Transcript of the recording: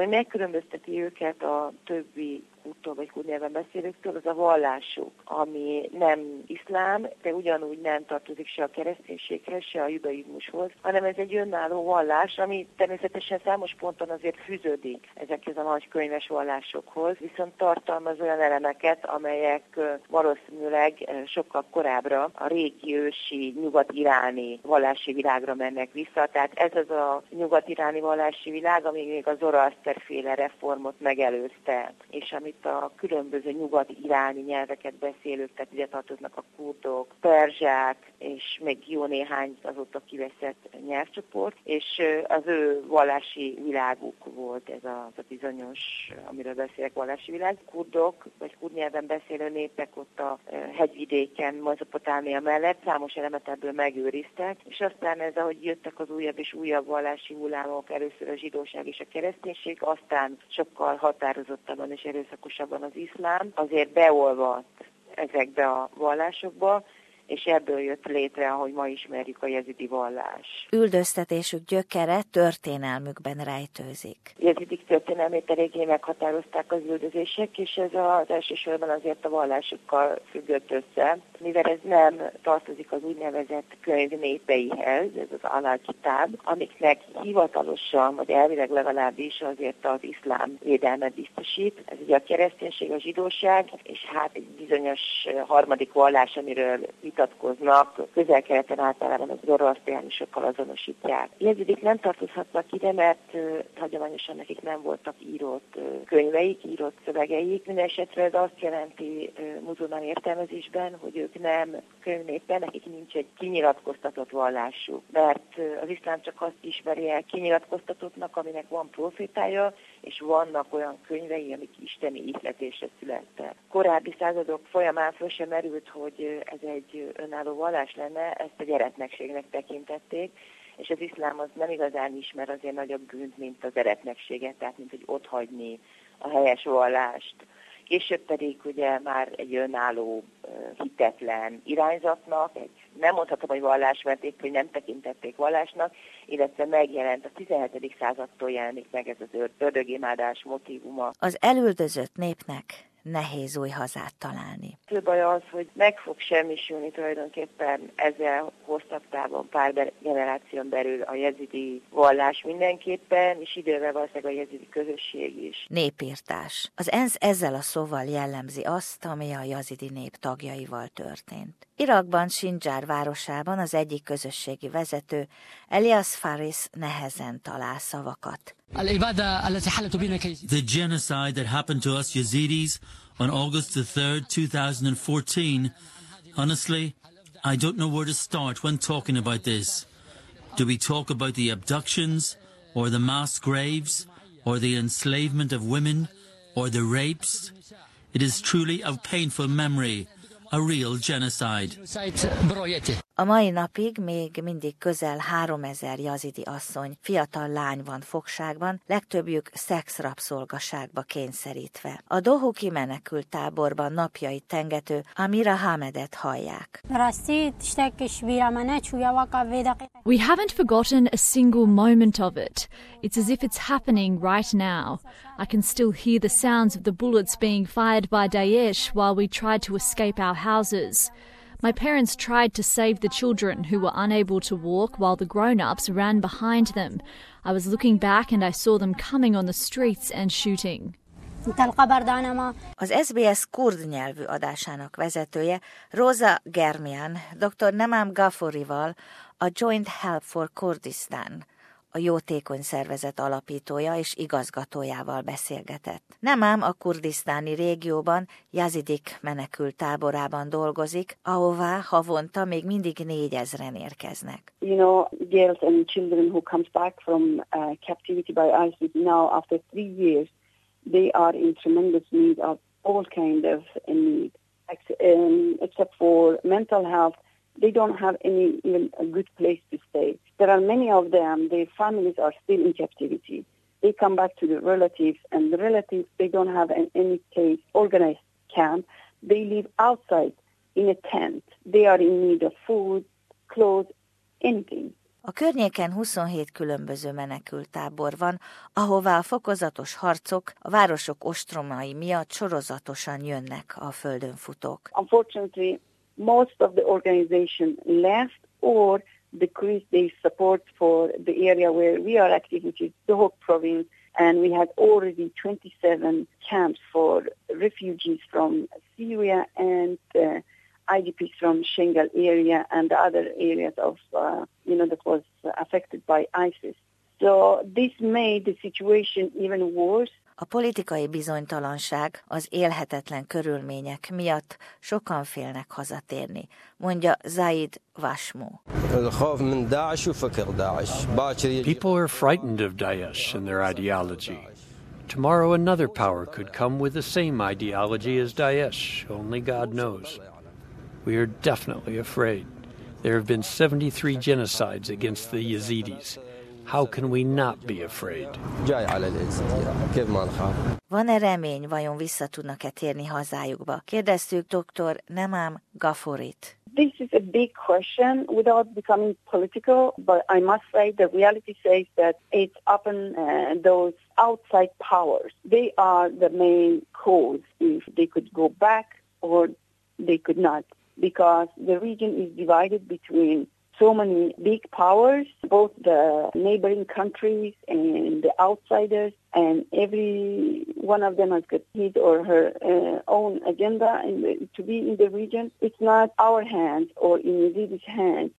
Ami megkülönbözteti őket a többi kurttól vagy kurd nyelven beszélőktől, az a vallásuk, ami nem iszlám, de ugyanúgy nem tartozik se a kereszténységhez, se a judaizmushoz, hanem ez egy önálló vallás, ami természetesen számos ponton azért fűződik ezekhez a nagy könyves vallásokhoz, viszont tartalmaz olyan elemeket, amelyek valószínűleg sokkal korábbra a régi ősi nyugat-iráni vallási világra mennek vissza. Tehát ez az a nyugat-iráni vallási világ, ami még a Zoroaszter-féle reformot megelőzte, és amit a különböző nyugat-iráni nyelveket beszélők, tehát ide tartoznak a kurdok, perzsák, és még jó néhány azóta kiveszett nyelvcsoport, és az ő vallási világuk volt ez a bizonyos, amiről beszélek, vallási világ. Kurdok, vagy kurd nyelven beszélő népek ott a hegyvidéken, Mezopotámia mellett számos elemet ebből megőriztek, és aztán ez, ahogy jöttek az újabb és újabb vallási hullámok, először a zsidóság és a kereszténység, aztán sokkal határozottabban és erőszakosabban az iszlám, azért beolvadt ezekbe a vallásokba, és ebből jött létre, ahogy ma ismerjük, a jezidi vallás. Üldöztetésük gyökere történelmükben rejtőzik. Jezidik történelmét eléggé meghatározták az üldözések, és ez az elsősorban azért a vallásukkal függött össze, mivel ez nem tartozik az úgynevezett könyv népeihez, ez az Alal-Kitáb, amiknek hivatalosan, vagy elvileg legalábbis azért az iszlám védelmet biztosít. Ez ugye a kereszténység, a zsidóság, és hát egy bizonyos harmadik vallás, amiről vitatkoznak, Közel-Keleten általában az zoroasztriánusokkal azonosítják. Jezidik nem tartozhatnak ide, mert hagyományosan nekik nem voltak írott könyveik, írott szövegeik. Mindenesetre ez azt jelenti muzulmán értelmezésben, hogy ők nem könyvnépben, nekik nincs egy kinyilatkoztatott vallásuk. Mert az iszlám csak azt ismeri el kinyilatkoztatottnak, aminek van profétája, és vannak olyan könyvei, amik isteni ihletésre születtek. Korábbi századok folyamán föl sem merült, hogy ez egy önálló vallás lenne, ezt a gyereknekségnek tekintették, és az iszlám az nem igazán ismer azért nagyobb bűnt, mint az eretnekséget, tehát mint hogy otthagyni a helyes vallást. Később pedig ugye már egy önálló, hitetlen irányzatnak, nem mondhatom, hogy vallás, mert épp, hogy nem tekintették vallásnak, illetve megjelent a 17. századtól jelenik meg ez az ördögimádás motívuma. Az elüldözött népnek nehéz új hazát találni. Fő baj az, hogy meg fog semmisülni tulajdonképpen ezzel hosszabb távon pár generáción belül a jezidi vallás mindenképpen, és idővel valószínűleg a jezidi közösség is. Népírtás. Az ENSZ ezzel a szóval jellemzi azt, ami a jezidi nép tagjaival történt. Irakban, Sinjar városában az egyik közösségi vezető, Elias Faris nehezen talál szavakat. The genocide that happened to us Yazidis on August the 3rd, 2014, honestly, I don't know where to start when talking about this. Do we talk about the abductions, or the mass graves, or the enslavement of women, or the rapes? It is truly a painful memory, a real genocide. A mai napig még mindig közel 3000 jazidi asszony, fiatal lány van fogságban, legtöbbjük szexrabszolgaságba kényszerítve. A Dohuki menekült táborban napjait tengető Amira Hamedet hallják. We haven't forgotten a single moment of it. It's as if it's happening right now. I can still hear the sounds of the bullets being fired by Daesh while we tried to escape our houses. My parents tried to save the children who were unable to walk while the grown-ups ran behind them. I was looking back and I saw them coming on the streets and shooting. Az SBS kurd nyelvű adásának vezetője, Rosa Germian, dr. Nemam Ghafourival, a Joint Help for Kurdistan, a jótékony szervezet alapítója és igazgatójával beszélgetett. Nemám a kurdisztáni régióban, Jazidik menekült táborában dolgozik, ahová havonta még mindig 4000-en érkeznek. You know, girls and children who comes back from captivity by ISIS now after 3 years, they are in tremendous need of all kind of need, except for mental health. They don't have even a good place to stay. There are many of them, their families are still in captivity. They come back to the relatives, and the relatives, they don't have any case organized camp. They live outside in a tent. They are in need of food, clothes, anything. A környéken 27 különböző menekülttábor van, ahová a fokozatos harcok a városok ostromai miatt sorozatosan jönnek a földön futók. Unfortunately, most of the organization left or decreased their support for the area where we are active, which is Dohuk province, and we had already 27 camps for refugees from Syria and IDPs from Shengal area and the other areas of, that was affected by ISIS. So this made the situation even worse. A politikai bizonytalanság, az élhetetlen körülmények miatt sokan félnek hazatérni, mondja Zaid Vashmu. People are frightened of Daesh and their ideology. Tomorrow another power could come with the same ideology as Daesh, only God knows. We are definitely afraid. There have been 73 genocides against the Yazidis. How can we not be afraid? Van-e remény, vajon vissza tudnak-e térni hazájukba? Kérdeztük dr. Nemam Gaforit. This is a big question without becoming political, but I must say the reality says that it's often those outside powers. They are the main cause if they could go back or they could not, because the region is divided between so many big powers, both the neighboring countries and the outsiders, and every one of them has got his or her own agenda to be in the region. It's not our hands or in Yazid's hands